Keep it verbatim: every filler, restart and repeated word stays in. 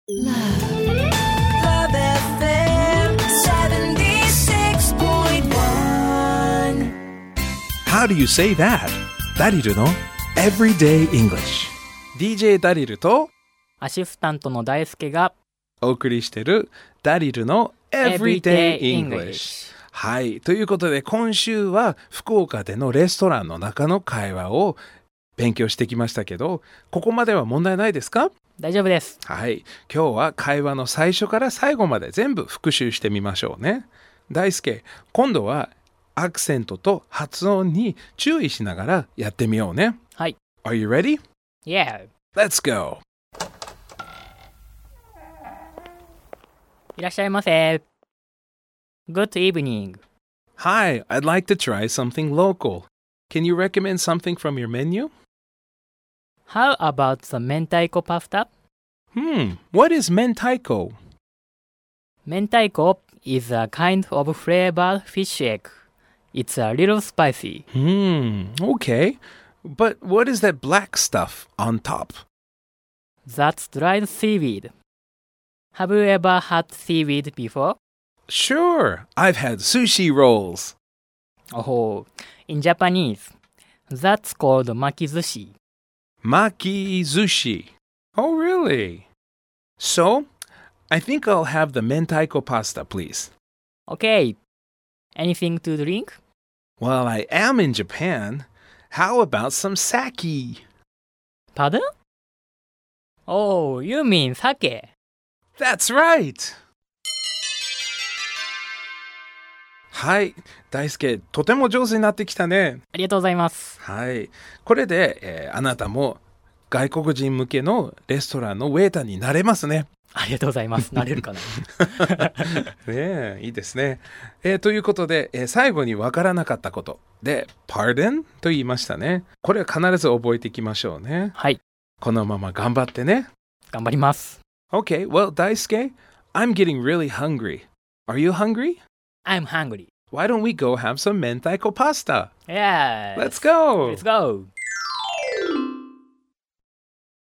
Love エフエム セブンティーシックスポイントワン How do you say that? ダリルの Everyday English。 ディージェー ダリルとアシスタントの大輔がお送りしているダリルの Everyday Everyday English。 English。 はい。ということで今週は福岡でのレストランの中の会話を勉強してきましたけど、ここまでは問題ないですか？ 大丈夫です。 はい。今日は会話の最初から最後まで全部復習してみましょうね。大輔、今度はアクセントと発音に注意しながらやってみようね。 はい。 Are you ready? Yeah。 Let's go! いらっしゃいませ。 Good evening。 Hi, I'd like to try something local. Can you recommend something from your menu? How about the 明太子パスタ? Hmm, what is mentaiko? 明太子 is a kind of flavored fish egg. It's a little spicy. Hmm, okay. But what is that black stuff on top? That's dried seaweed. Have you ever had seaweed before? Sure, I've had sushi rolls. Oh, in Japanese, that's called makizushi. Makizushi. Oh, really? So, I think I'll have the mentaiko pasta, please. Okay. Anything to drink? Well, I am in Japan. How about some sake? Pardon? Oh, you mean sake. That's right! はい、大輔、とても上手になってきたね。 ありがとうございます。 はい、これで、えーあなたも外国人向けのレストランのウェイターになれますね。 ありがとうございます。なれるかな。 ねえ、いいですね。えーということで、えー最後にわからなかったことで Pardon と言いましたね。これは必ず覚えていきましょうね。 はい。 このまま頑張ってね。 頑張ります。 Okay, well, 大輔、I'm getting really hungry. Are you hungry? I'm hungry. Why don't we go have some mentaiko pasta? Yeah. Let's go! Let's go.